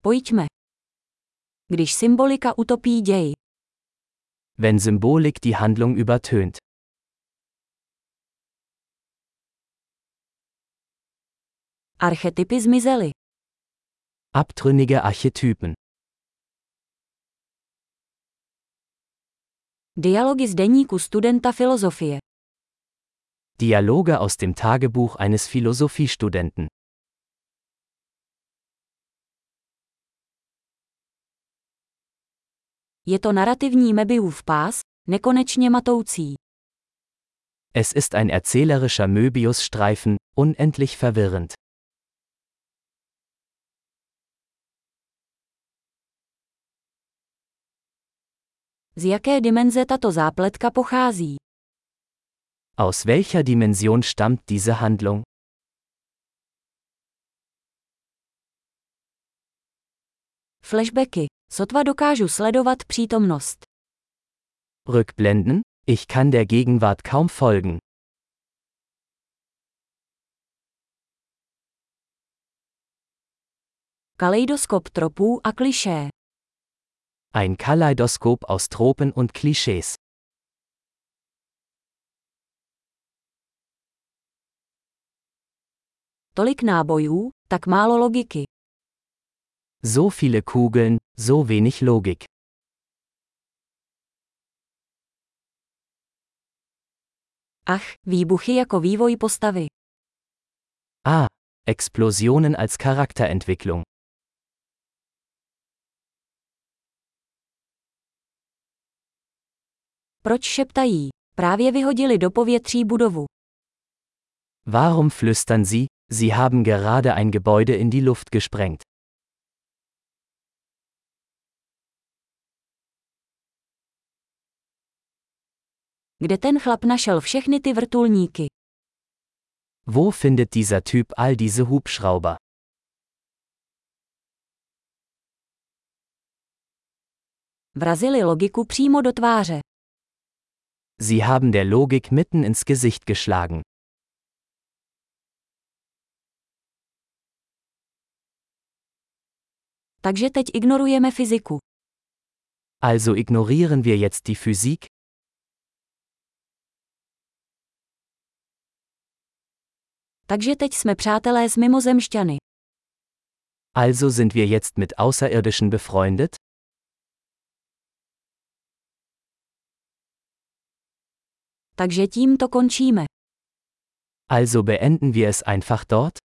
Pojďme. Když symbolika utopí děj. Wenn Symbolik die Handlung übertönt. Archetypy zmizely. Abtrünnige Archetypen. Dialogy z deníku studenta filozofie. Dialoge aus dem Tagebuch eines Philosophiestudenten. Je to narrativní Möbiusův pás, nekonečně matoucí. Es ist ein erzählerischer Möbiusstreifen, unendlich verwirrend. Z jaké dimenze tato zápletka pochází? Aus welcher Dimension stammt diese Handlung? Flashbacky. Sotva dokážu sledovat přítomnost. Rückblenden? Ich kann der Gegenwart kaum folgen. Kaleidoskop tropů a klišé. Ein Kaleidoskop aus Tropen und Klischees. Tolik nábojů, tak málo logiky. So viele Kugeln, so wenig Logik. Ach, výbuchy jako vývoj postavy. Ah, Explosionen als Charakterentwicklung. Proč šeptají? Právě vyhodili do povětří budovu. Warum flüstern Sie? Sie haben gerade ein Gebäude in die Luft gesprengt. Kde ten chlap našel všechny ty vrtulníky? Wo findet dieser Typ all diese Hubschrauber? Vrazili logiku přímo do tváře. Sie haben der Logik mitten ins Gesicht geschlagen. Takže teď ignorujeme fyziku. Also ignorieren wir jetzt die Physik? Takže teď jsme přátelé s mimozemšťany. Also sind wir jetzt mit Außerirdischen befreundet? Takže tím to končíme. Also beenden wir es einfach dort?